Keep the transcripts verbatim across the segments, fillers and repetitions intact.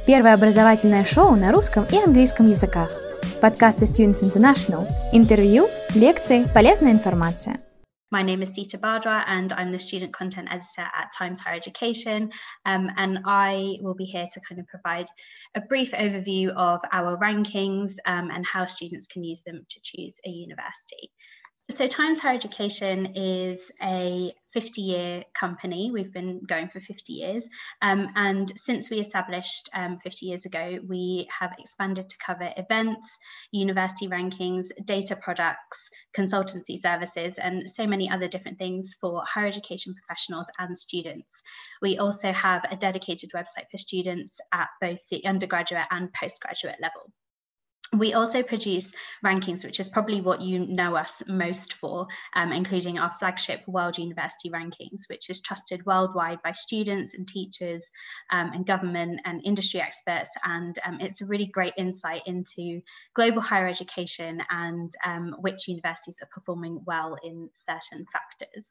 Первое образовательное шоу на русском и английском языках. Подкасты Students International. Интервью, лекции, полезная информация. My name is Dita Bardra and I'm the Student Content Editor at Times Higher Education, um, and I will be here to kind of provide a brief overview of our rankings um, and how students can use them to choose a university. So Times Higher Education is a fifty-year company. We've been going for fifty years. Um, and since we established um, fifty years ago, we have expanded to cover events, university rankings, data products, consultancy services, and so many other different things for higher education professionals and students. We also have a dedicated website for students at both the undergraduate and postgraduate level. We also produce rankings, which is probably what you know us most for, um, including our flagship World University Rankings, which is trusted worldwide by students and teachers um, and government and industry experts. And um, it's a really great insight into global higher education and um, which universities are performing well in certain factors.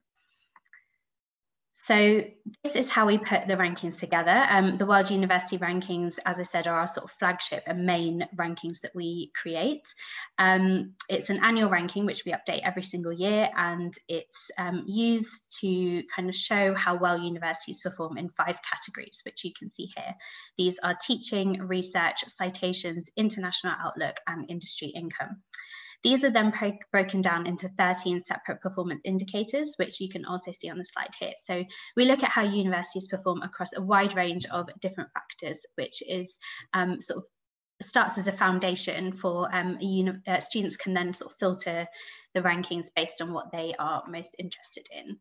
So this is how we put the rankings together. Um, the World University Rankings, as I said, are our sort of flagship and main rankings that we create. Um, it's an annual ranking, which we update every single year, and it's um, used to kind of show how well universities perform in five categories, which you can see here. These are teaching, research, citations, international outlook, and industry income. These are then pro- broken down into thirteen separate performance indicators, which you can also see on the slide here. So we look at how universities perform across a wide range of different factors, which is um, sort of starts as a foundation for um, a uni- uh, students can then sort of filter the rankings based on what they are most interested in.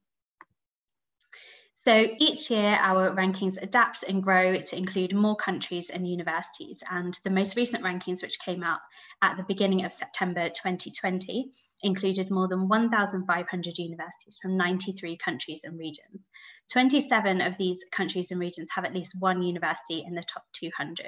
So each year our rankings adapt and grow to include more countries and universities, and the most recent rankings, which came out at the beginning of September twenty twenty, included more than one thousand five hundred universities from ninety-three countries and regions. twenty-seven of these countries and regions have at least one university in the top two hundred.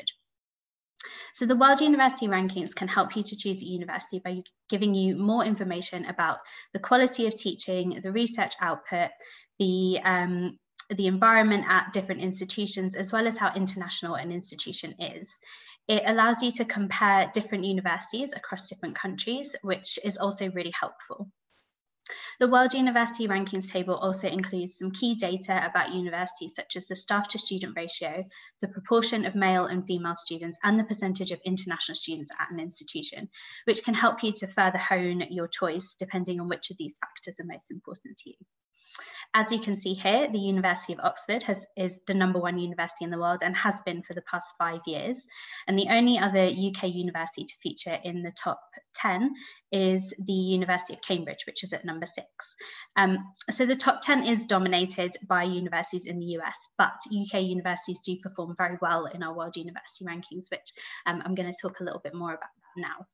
So the World University Rankings can help you to choose a university by giving you more information about the quality of teaching, the research output, the um, the environment at different institutions, as well as how international an institution is. It allows you to compare different universities across different countries, which is also really helpful. The World University Rankings table also includes some key data about universities, such as the staff to student ratio, the proportion of male and female students, and the percentage of international students at an institution, which can help you to further hone your choice depending on which of these factors are most important to you. As you can see here, the University of Oxford has, is the number one university in the world and has been for the past five years. And the only other U K university to feature in the top ten is the University of Cambridge, which is at number six. Um, so the top ten is dominated by universities in the U S, but U K universities do perform very well in our World University Rankings, which um, I'm going to talk a little bit more about now.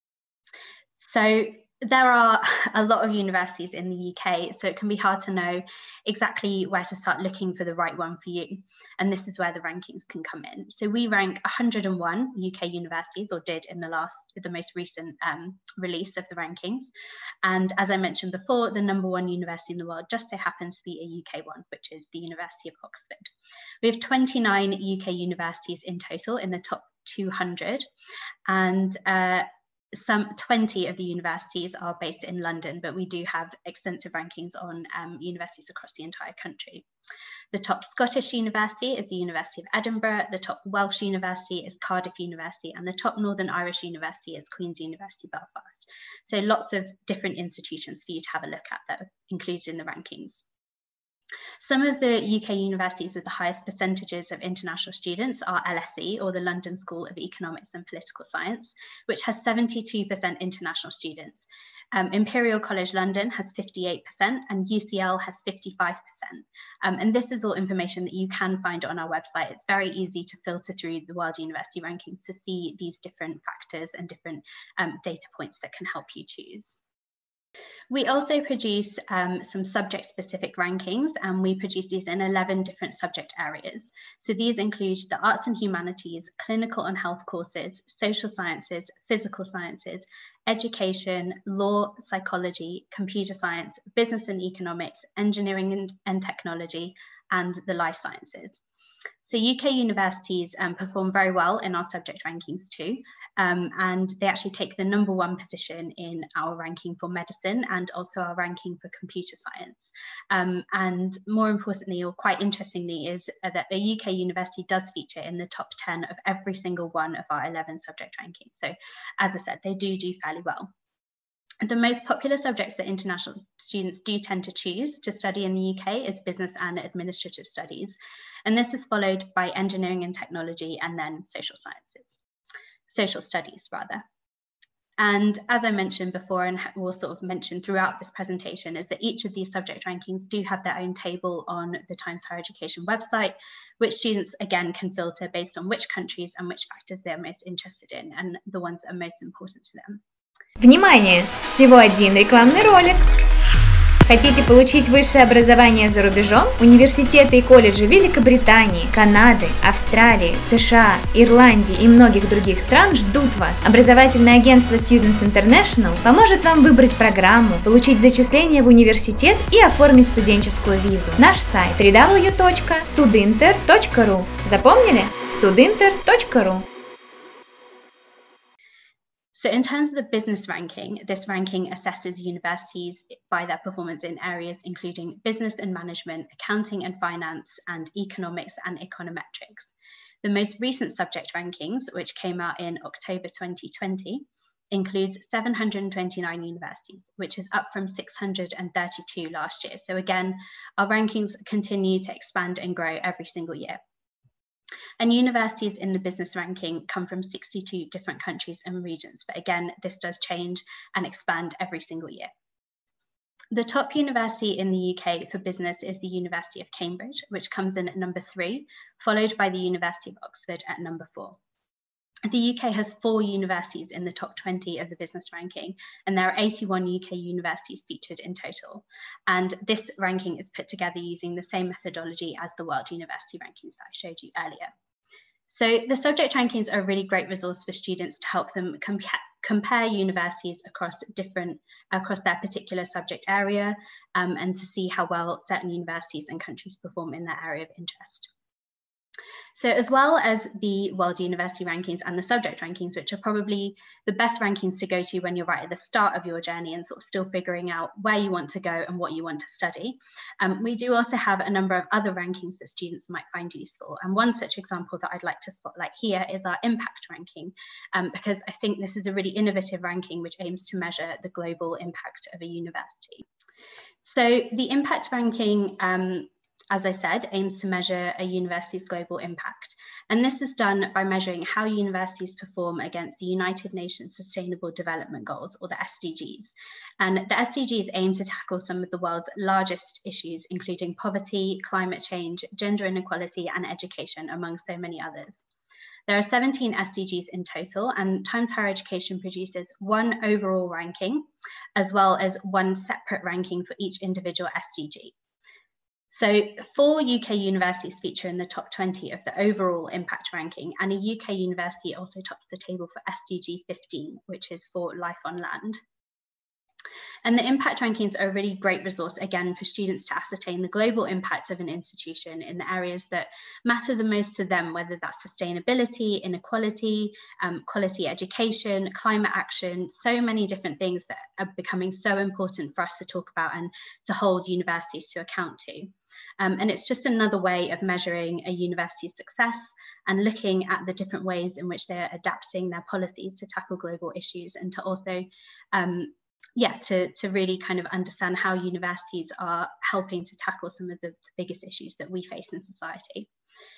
So there are a lot of universities in the U K, so it can be hard to know exactly where to start looking for the right one for you. And this is where the rankings can come in. So we rank one hundred and one U K universities, or did in the last, the most recent um, release of the rankings. And as I mentioned before, the number one university in the world just so happens to be a U K one, which is the University of Oxford. We have twenty-nine U K universities in total in the top two hundred, and uh, some twenty of the universities are based in London, but we do have extensive rankings on um, universities across the entire country. The top Scottish university is the University of Edinburgh, the top Welsh university is Cardiff University, and the top Northern Irish university is Queen's University Belfast. So lots of different institutions for you to have a look at that are included in the rankings. Some of the U K universities with the highest percentages of international students are L S E, or the London School of Economics and Political Science, which has seventy-two percent international students. Um, Imperial College London has fifty-eight percent and U C L has fifty-five percent. Um, and this is all information that you can find on our website. It's very easy to filter through the World University Rankings to see these different factors and different um, data points that can help you choose. We also produce um, some subject-specific rankings, and we produce these in eleven different subject areas. So these include the arts and humanities, clinical and health courses, social sciences, physical sciences, education, law, psychology, computer science, business and economics, engineering and, and technology, and the life sciences. So U K universities um, perform very well in our subject rankings too, um, and they actually take the number one position in our ranking for medicine and also our ranking for computer science. Um, and more importantly, or quite interestingly, is that a U K university does feature in the top ten of every single one of our eleven subject rankings. So as I said, they do do fairly well. The most popular subjects that international students do tend to choose to study in the U K is business and administrative studies. And this is followed by engineering and technology and then social sciences, social studies rather. And as I mentioned before, and we'll sort of mention throughout this presentation, is that each of these subject rankings do have their own table on the Times Higher Education website, which students, again, can filter based on which countries and which factors they're most interested in and the ones that are most important to them. Внимание! Всего один рекламный ролик. Хотите получить высшее образование за рубежом? Университеты и колледжи Великобритании, Канады, Австралии, США, Ирландии и многих других стран ждут вас. Образовательное агентство Students International поможет вам выбрать программу, получить зачисление в университет и оформить студенческую визу. Наш сайт дабл ю дабл ю дабл ю точка студинтер точка ру. Запомнили? студинтер точка ру. So in terms of the business ranking, this ranking assesses universities by their performance in areas including business and management, accounting and finance, and economics and econometrics. The most recent subject rankings, which came out in October twenty twenty, includes seven hundred twenty-nine universities, which is up from six hundred thirty-two last year. So again, our rankings continue to expand and grow every single year. And universities in the business ranking come from sixty-two different countries and regions. But again, this does change and expand every single year. The top university in the U K for business is the University of Cambridge, which comes in at number three, followed by the University of Oxford at number four. The U K has four universities in the top twenty of the business ranking, and there are eighty-one U K universities featured in total. And this ranking is put together using the same methodology as the World University Rankings that I showed you earlier. So the subject rankings are a really great resource for students to help them compa- compare universities across different, across their particular subject area, um, and to see how well certain universities and countries perform in their area of interest. So as well as the World University Rankings and the subject rankings, which are probably the best rankings to go to when you're right at the start of your journey and sort of still figuring out where you want to go and what you want to study, um, we do also have a number of other rankings that students might find useful. And one such example that I'd like to spotlight here is our impact ranking, um, because I think this is a really innovative ranking which aims to measure the global impact of a university. So the impact ranking, um, as I said, aims to measure a university's global impact. And this is done by measuring how universities perform against the United Nations Sustainable Development Goals, or the S D Gs. And the S D Gs aim to tackle some of the world's largest issues, including poverty, climate change, gender inequality, and education, among so many others. There are seventeen S D Gs in total, and Times Higher Education produces one overall ranking, as well as one separate ranking for each individual S D G. So four U K universities feature in the top twenty of the overall impact ranking, and a U K university also tops the table for S D G fifteen, which is for life on land. And the impact rankings are a really great resource, again, for students to ascertain the global impact of an institution in the areas that matter the most to them, whether that's sustainability, inequality, um, quality education, climate action, so many different things that are becoming so important for us to talk about and to hold universities to account to. Um, and it's just another way of measuring a university's success and looking at the different ways in which they're adapting their policies to tackle global issues, and to also um, yeah, to, to really kind of understand how universities are helping to tackle some of the biggest issues that we face in society.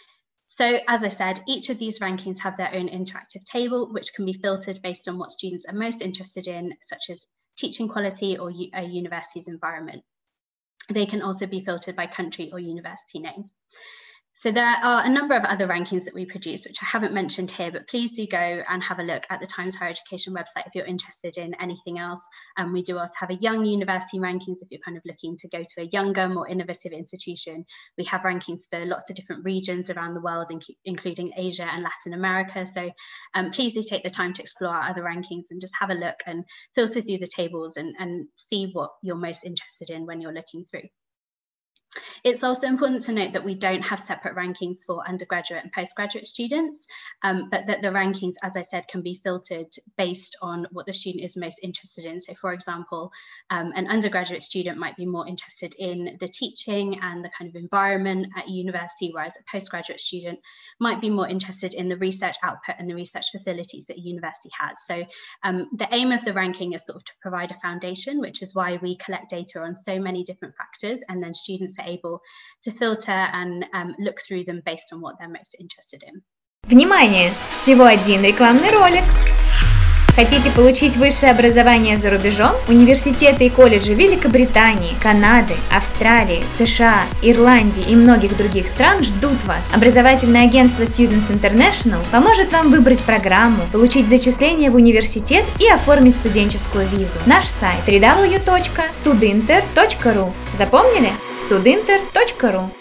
So as I said, each of these rankings have their own interactive table, which can be filtered based on what students are most interested in, such as teaching quality or a university's environment. They can also be filtered by country or university name. So there are a number of other rankings that we produce, which I haven't mentioned here, but please do go and have a look at the Times Higher Education website if you're interested in anything else. Um, we do also have a young university rankings if you're kind of looking to go to a younger, more innovative institution. We have rankings for lots of different regions around the world, inc including Asia and Latin America. So um, please do take the time to explore our other rankings and just have a look and filter through the tables and, and see what you're most interested in when you're looking through. It's also important to note that we don't have separate rankings for undergraduate and postgraduate students, um, but that the rankings, as I said, can be filtered based on what the student is most interested in. So for example, um, an undergraduate student might be more interested in the teaching and the kind of environment at university, whereas a postgraduate student might be more interested in the research output and the research facilities that a university has. So um, the aim of the ranking is sort of to provide a foundation, which is why we collect data on so many different factors, and then students are able to filter and um, look through them based on what they're most interested in. Внимание! Всего один рекламный ролик. Хотите получить высшее образование за рубежом? Университеты и колледжи Великобритании, Канады, Австралии, США, Ирландии и многих других стран ждут вас. Образовательное агентство Students International поможет вам выбрать программу, получить зачисление в университет и оформить студенческую визу. Наш сайт дабл ю дабл ю дабл ю точка студинтер точка ру. Запомнили? студинтер точка ру.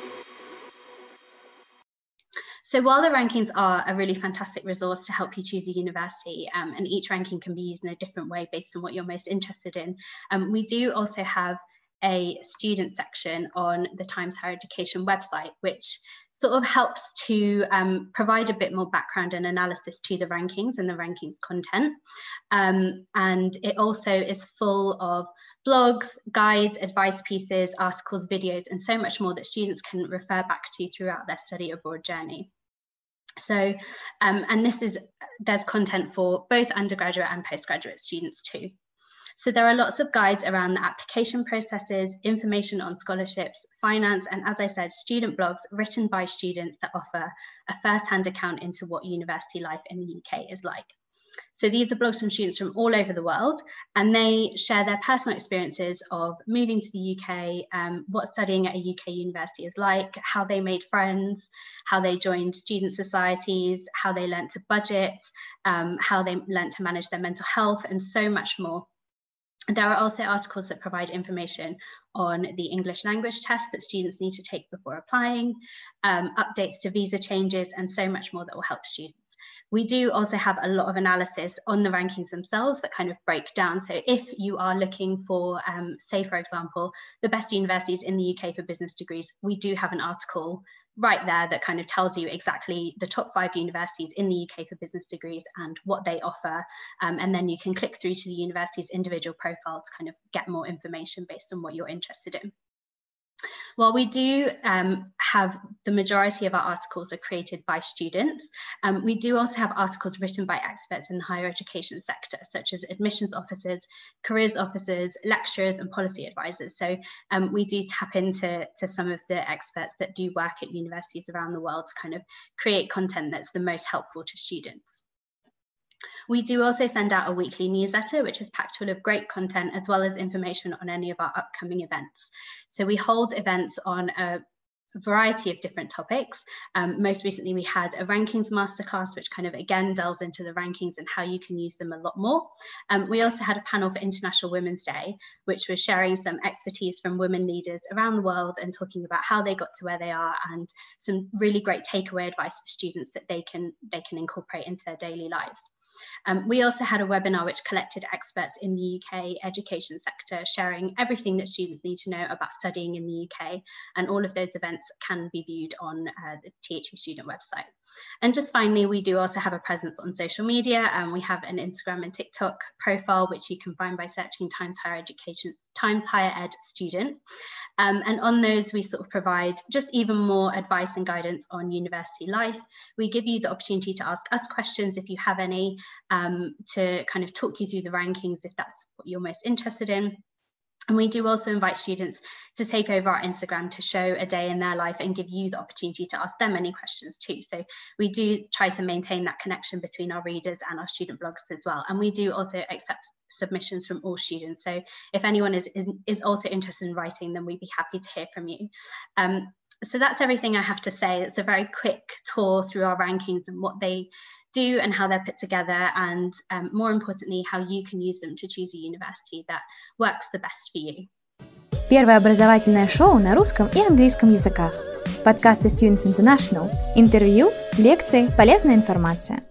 So while the rankings are a really fantastic resource to help you choose a university, um, and each ranking can be used in a different way based on what you're most interested in, um, we do also have a student section on the Times Higher Education website, which sort of helps to um, provide a bit more background and analysis to the rankings and the rankings content. Um, and it also is full of blogs, guides, advice pieces, articles, videos, and so much more that students can refer back to throughout their study abroad journey. So, um, and this is, there's content for both undergraduate and postgraduate students too. So there are lots of guides around the application processes, information on scholarships, finance, and as I said, student blogs written by students that offer a first-hand account into what university life in the U K is like. So these are blogs from students from all over the world, and they share their personal experiences of moving to the U K, um, what studying at a U K university is like, how they made friends, how they joined student societies, how they learnt to budget, um, how they learnt to manage their mental health, and so much more. There are also articles that provide information on the English language test that students need to take before applying, um, updates to visa changes, and so much more that will help students. We do also have a lot of analysis on the rankings themselves that kind of break down. So if you are looking for, um, say, for example, the best universities in the U K for business degrees, we do have an article right there that kind of tells you exactly the top five universities in the U K for business degrees and what they offer. Um, and then you can click through to the university's individual profile to kind of get more information based on what you're interested in. While we do um, have the majority of our articles are created by students, um, we do also have articles written by experts in the higher education sector, such as admissions officers, careers officers, lecturers, and policy advisors. So um, we do tap into to some of the experts that do work at universities around the world to kind of create content that's the most helpful to students. We do also send out a weekly newsletter, which is packed full of great content, as well as information on any of our upcoming events. So we hold events on a variety of different topics. Um, most recently, we had a rankings masterclass, which kind of again delves into the rankings and how you can use them a lot more. Um, we also had a panel for International Women's Day, which was sharing some expertise from women leaders around the world and talking about how they got to where they are and some really great takeaway advice for students that they can, they can incorporate into their daily lives. Um, we also had a webinar which collected experts in the U K education sector, sharing everything that students need to know about studying in the U K, and all of those events can be viewed on uh, the T H E student website. And just finally, we do also have a presence on social media, and we have an Instagram and TikTok profile, which you can find by searching Times Higher Education, Times Higher Ed Student. Um, and on those, we sort of provide just even more advice and guidance on university life. We give you the opportunity to ask us questions if you have any, um, to kind of talk you through the rankings if that's what you're most interested in. And we do also invite students to take over our Instagram to show a day in their life and give you the opportunity to ask them any questions too. So we do try to maintain that connection between our readers and our student blogs as well. And we do also accept submissions from all students. So if anyone is, is, is also interested in writing, then we'd be happy to hear from you. Um, so that's everything I have to say. It's a very quick tour through our rankings and what they do and how they're put together, and um, more importantly, how you can use them to choose a university that works the best for you. Первое образовательное шоу на русском и английском языках. Подкасты Students International. Интервью, лекции, полезная информация.